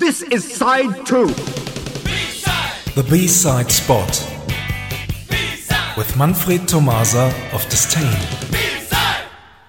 This is side 2. B-side. The B-side spot. B-side. With Manfred Tomasa of Disdain. B-side.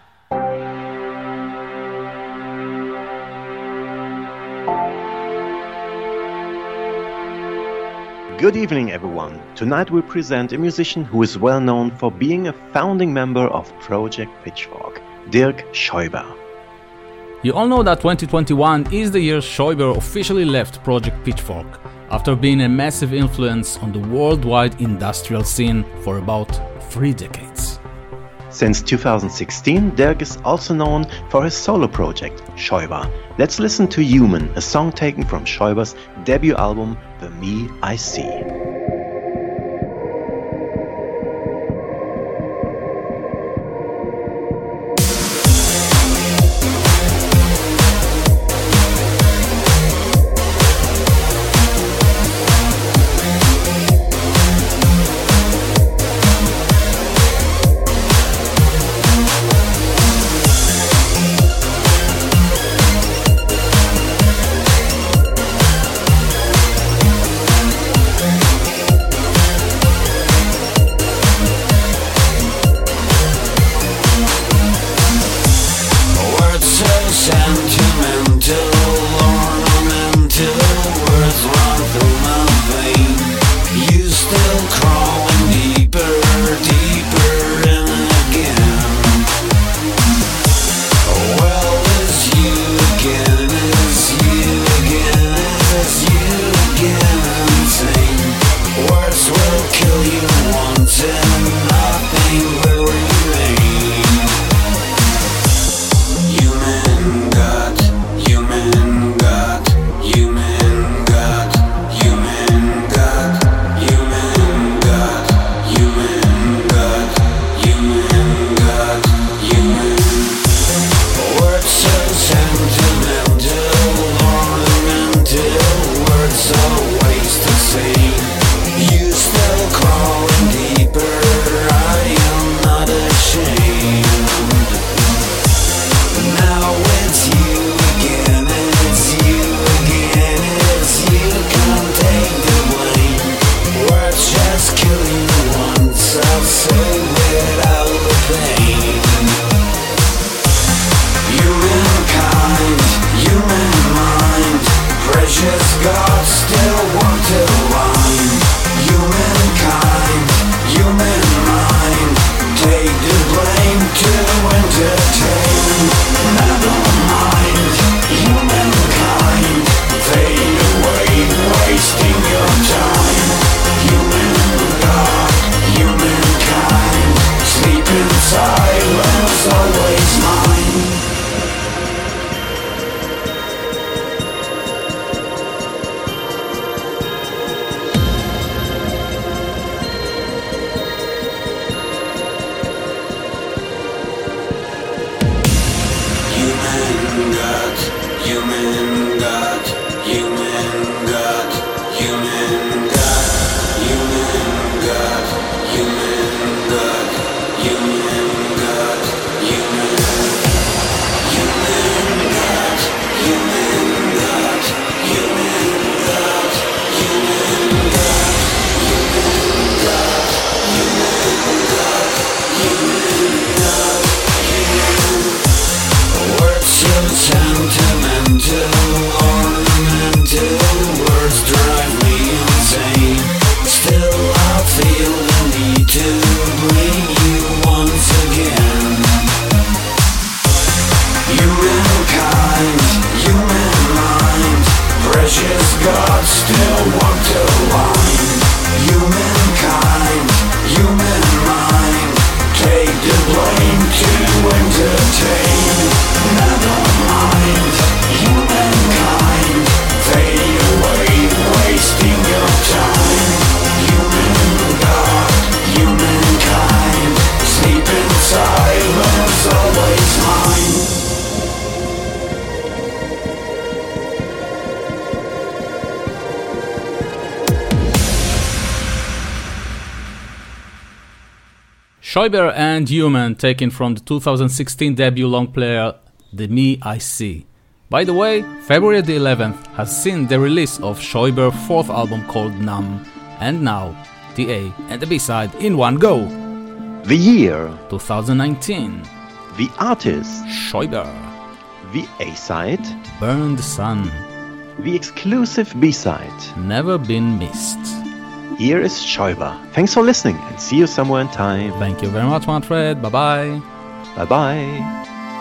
Good evening, everyone. Tonight we present a musician who is well known for being a founding member of Project Pitchfork, Dirk Scheuber. You all know that 2021 is the year Scheuber officially left Project Pitchfork, after being a massive influence on the worldwide industrial scene for about 3 decades. Since 2016, Dirk is also known for his solo project, Scheuber. Let's listen to Human, a song taken from Scheuber's debut album, The Me I See. Scheuber and Human, taken from the 2016 debut long player The Me I See. By the way, February the 11th has seen the release of Schäuber's fourth album called Numb, and now the A and the B-side in one go. The year 2019. The artist Schäuber. The A-side Burn the Sun. The exclusive B-side Never Been Missed. Here is Schäuber. Thanks for listening and see you somewhere in time. Thank you very much, Manfred. Bye-bye. Bye-bye.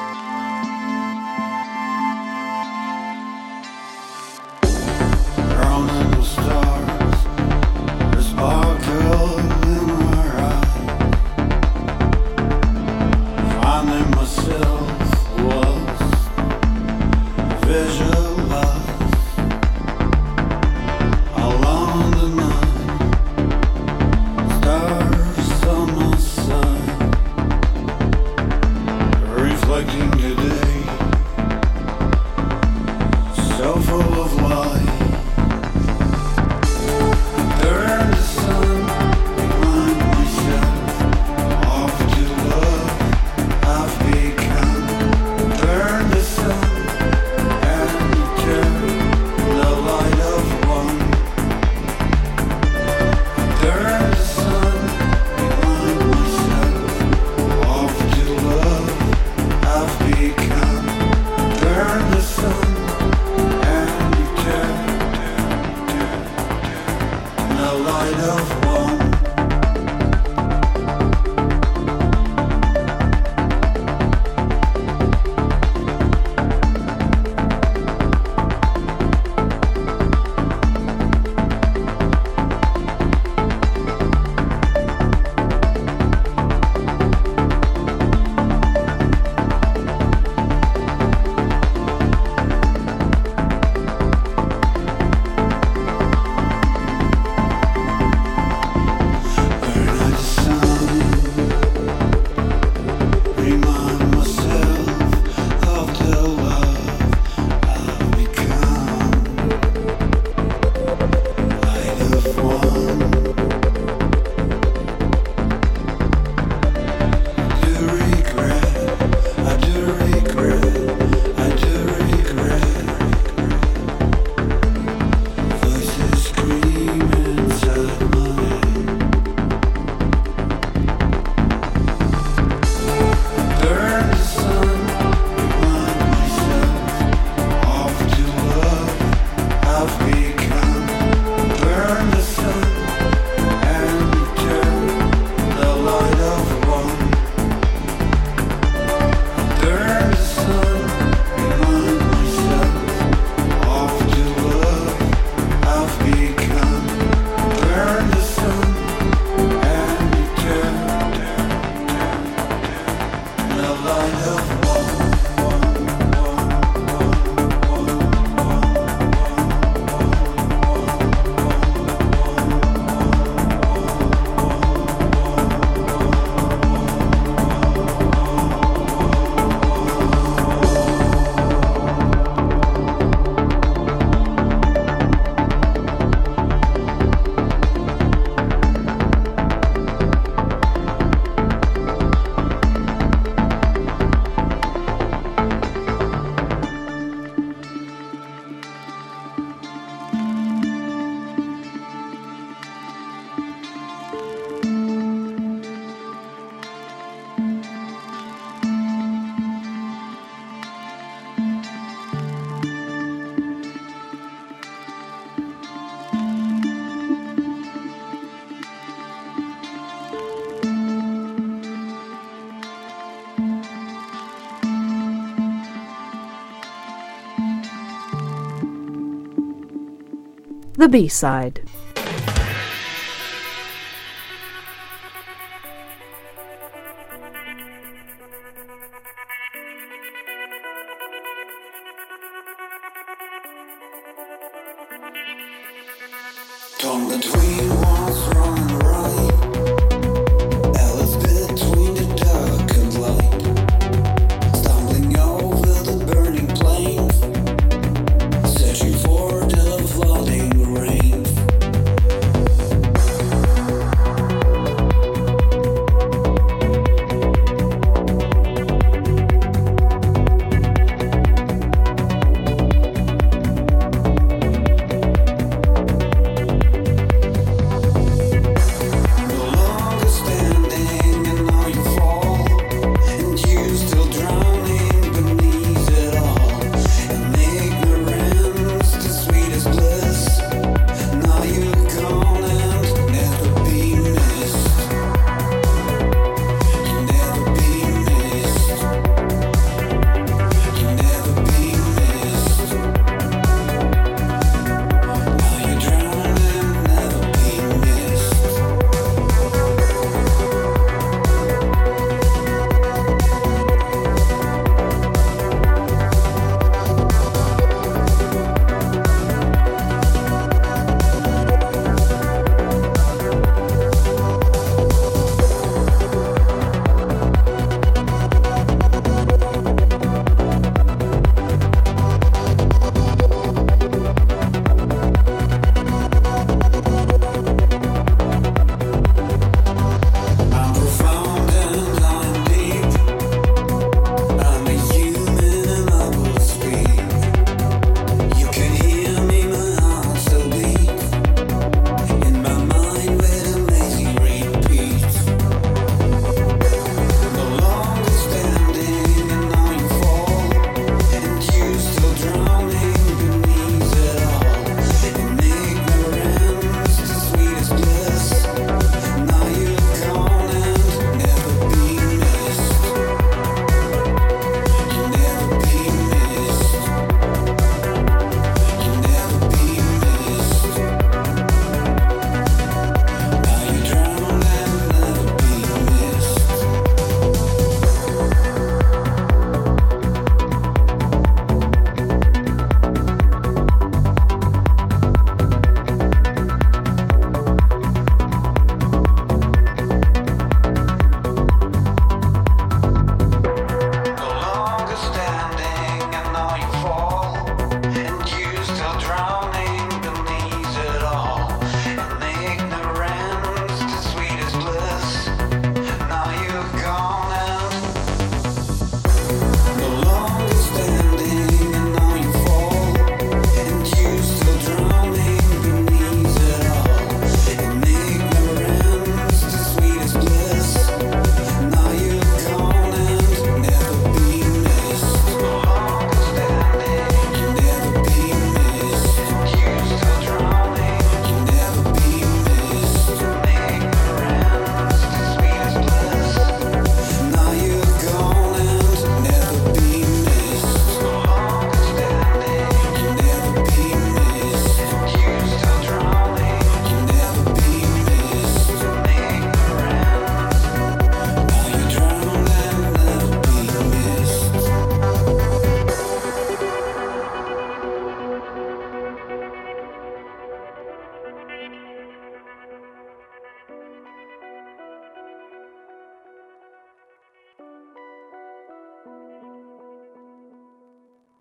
The B-side. Torn between what's wrong and right, Alice between the dark and light, stumbling over the burning plains, searching for the flooding rain. from